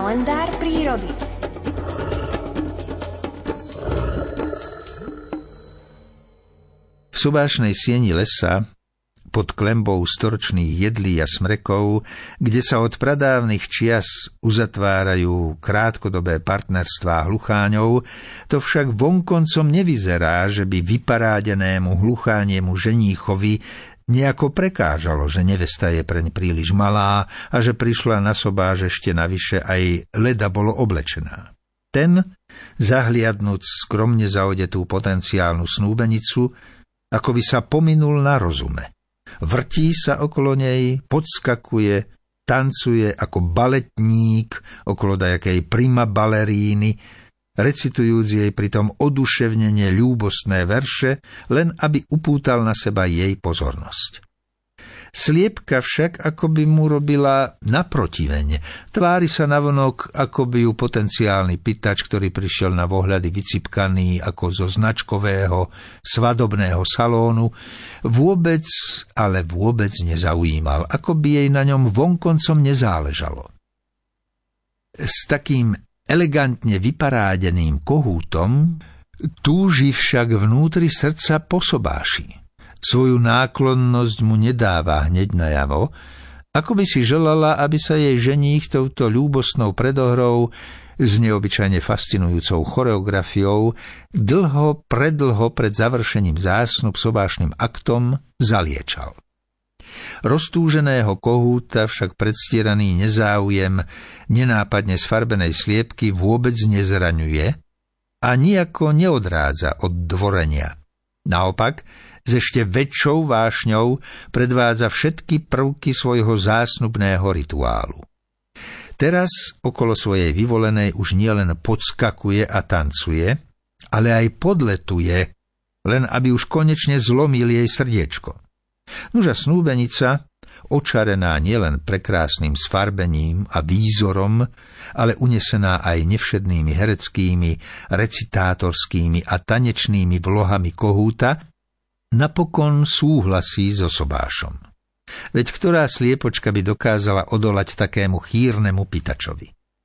Kalendár prírody. V sobášnej sieni lesa, pod klenbou storočných jedlí a smrekov, kde sa od pradávnych čias uzatvárajú krátkodobé partnerstvá hlucháňov, to však vonkoncom nevyzerá, že by vyparádenému hluchániemu ženíchovi nejako prekážalo, že nevesta je preň príliš malá a že prišla na sobáš ešte navyše aj leda bolo oblečená. Ten, zahliadnúc skromne zaodetú potenciálnu snúbenicu, ako by sa pominul na rozume. Vrtí sa okolo nej, podskakuje, tancuje ako baletník okolo dajakej prima baleríny, recitujúc jej pritom oduševnene ľúbostné verše, len aby upútal na seba jej pozornosť. Sliepka však akoby mu robila naprotiveň. Tvári sa navonok, ako by ju potenciálny pýtač, ktorý prišiel na vohľady vycipkaný ako zo značkového svadobného salónu, vôbec, ale vôbec nezaujímal, ako by jej na ňom vonkoncom nezáležalo. S takým elegantne vyparádeným kohútom túži však vnútri srdca po sobáši. Svoju náklonnosť mu nedáva hneď najavo, ako by si želala, aby sa jej ženích touto ľúbostnou predohrou s neobyčajne fascinujúcou choreografiou predlho pred završením zásnub sobášnym aktom zaliečal. Roztúženého kohúta však predstieraný nezáujem nenápadne sfarbenej sliepky vôbec nezraňuje a nijako neodrádza od dvorenia. Naopak, s ešte väčšou vášňou predvádza všetky prvky svojho zásnubného rituálu. Teraz okolo svojej vyvolenej už nielen podskakuje a tancuje, ale aj podletuje, len aby už konečne zlomil jej srdiečko. Nuža snúbenica, očarená nielen prekrásnym sfarbením a výzorom, ale unesená aj nevšednými hereckými, recitátorskými a tanečnými vlohami kohúta, napokon súhlasí so sobášom. Veď ktorá sliepočka by dokázala odolať takému chýrnemu pýtačovi?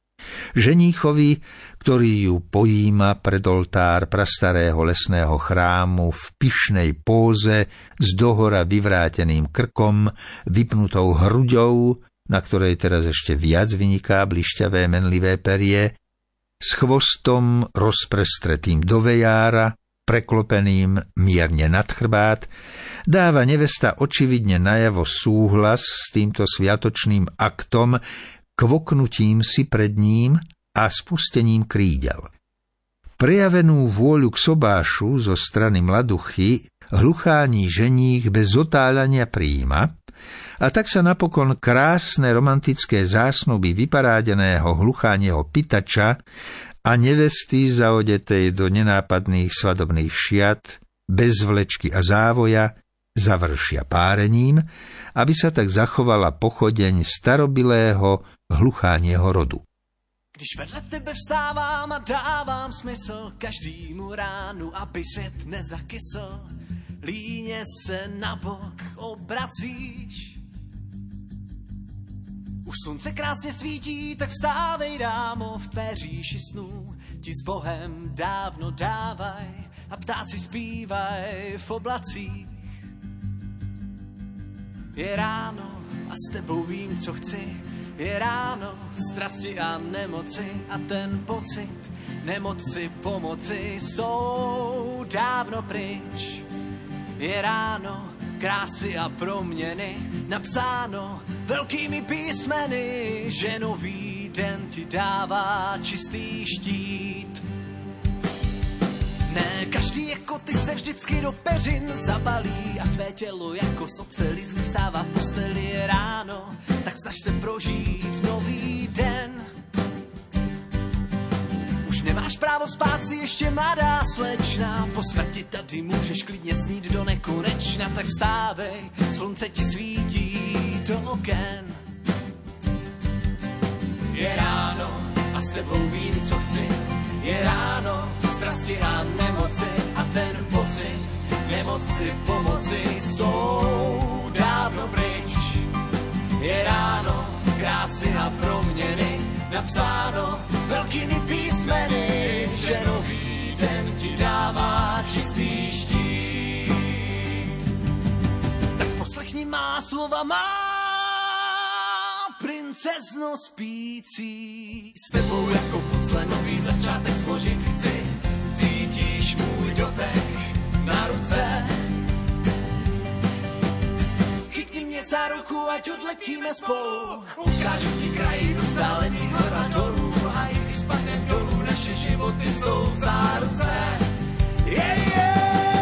Ženíchovi, ktorý ju pojíma pred oltár prastarého lesného chrámu v pyšnej póze s dohora vyvráteným krkom, vypnutou hruďou, na ktorej teraz ešte viac vyniká blišťavé menlivé perie, s chvostom rozprestretým do vejára, preklopeným mierne nad chrbát, dáva nevesta očividne najavo súhlas s týmto sviatočným aktom, kvoknutím si pred ním a spustením krídel. Prejavenú vôľu k sobášu zo strany mladuchy hlucháni ženích bez otáľania prijíma, a tak sa napokon krásne romantické zásnuby vyparádeného hluchánieho pýtača a nevesty zaodetej do nenápadných svadobných šiat, bez vlečky a závoja, završia párením, aby sa tak zachovala pochodeň starobilého hluchánieho rodu. Když vedle tebe vstávám a dávám smysl každému ránu, aby svět nezakysl, líně se na bok obracíš. Už slunce krásně svítí, tak vstávej, dámo, v tvé říši snů ti s Bohem dávno dávaj a ptáci zpívaj v oblacích. Je ráno a s tebou vím, co chci. Je ráno, strasti a nemoci a ten pocit nemoci pomoci jsou dávno pryč. Je ráno, krásy a proměny, napsáno velkými písmeny, že nový den ti dává čistý štít. Ne, každý jako ty se vždycky do peřin zabalí a tvé tělo jako z oceli zůstává v posteli. Je ráno, tak snaž se prožít nový den. Už nemáš právo spát si ještě mladá slečna, po smrti tady můžeš klidně snít do nekonečna, tak vstávej, slunce ti svítí do oken. Je ráno a s tebou vím, co chci. Je ráno, strasti a nemoci a ten pocit nemoci pomoci jsou dávno pryč. Je ráno, krásy a proměny, napsáno velkými písmeny, že nový den ti dává čistý štít. Tak poslechni má slova, má princezno spící. S tebou jako pucle nový začátek složit chci, cítíš můj dotek na ruce. Chytni mě za ruku, ať odletíme spolu, ukážu ti krajinu vzdálených hor a dolů, a i když spadnem dolů, naše životy jsou v záruce. Yeah, yeah.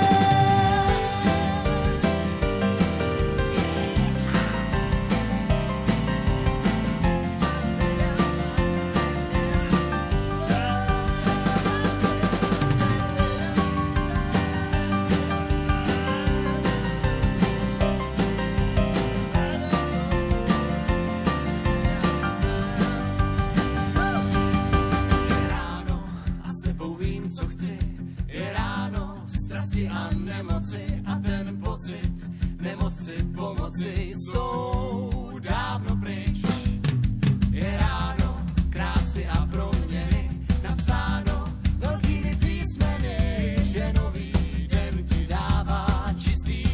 A nemoci a ten pocit nemoci pomoci jsou dávno pryč. Je ráno krásy a proměny, napsáno velkými písmeny, že nový den ti dává čistý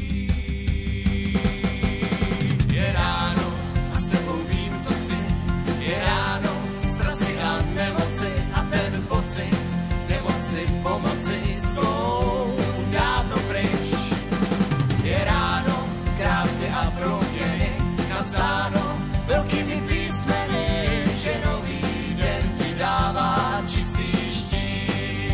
štít. Je ráno a s tebou vím, co chci. Je ráno strasti a nemoci a ten pocit nemoci pomoci jsou dávno pryč. Je ráno krásy a proměny, napsáno velkými písmeny, že nový den ti dává čistý štít.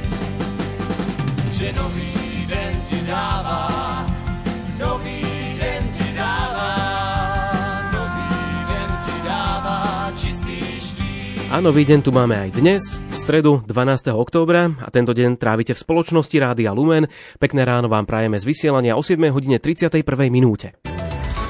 Že nový den ti dává, nový den ti dává, nový den ti dává čistý štít. A nový deň tu máme aj dnes, v stredu 12. októbra, a tento deň trávite v spoločnosti Rádia Lumen. Pekné ráno vám prajeme z vysielania o 7:31 minúte.